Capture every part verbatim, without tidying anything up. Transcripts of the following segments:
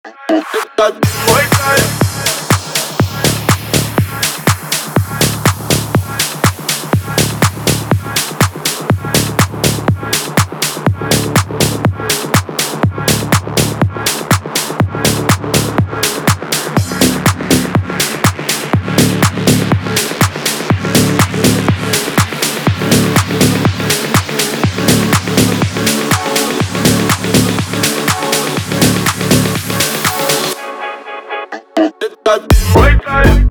Это мой кайф. Это мой кайф.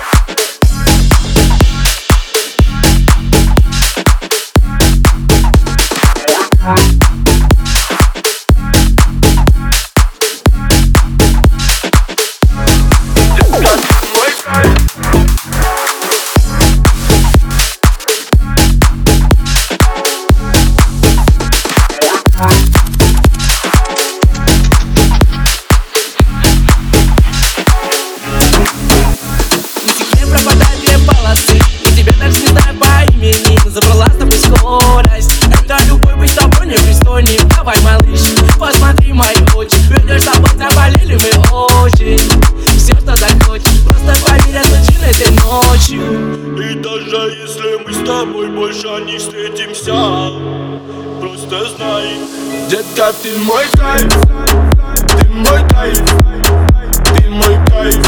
Забрала с тобой скорость. Это любовь, быть с тобой непристойней. Давай, малыш, посмотри мои очи. Ведешь с тобой, заболели мы очень. Все, что захочешь, просто поверь, я случилось этой ночью. И даже если мы с тобой больше не встретимся, просто знай, детка, ты мой кайф. Ты мой кайф. Ты мой кайф.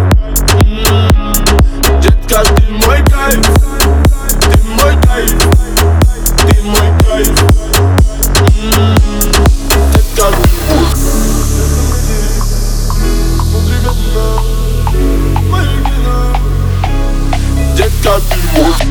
М-м-м. Детка, ты мой кайф. Ты мой кайф, ты мой кайф. М-м-м. Детка, ты мой кайф. Детка, ты мой кайф.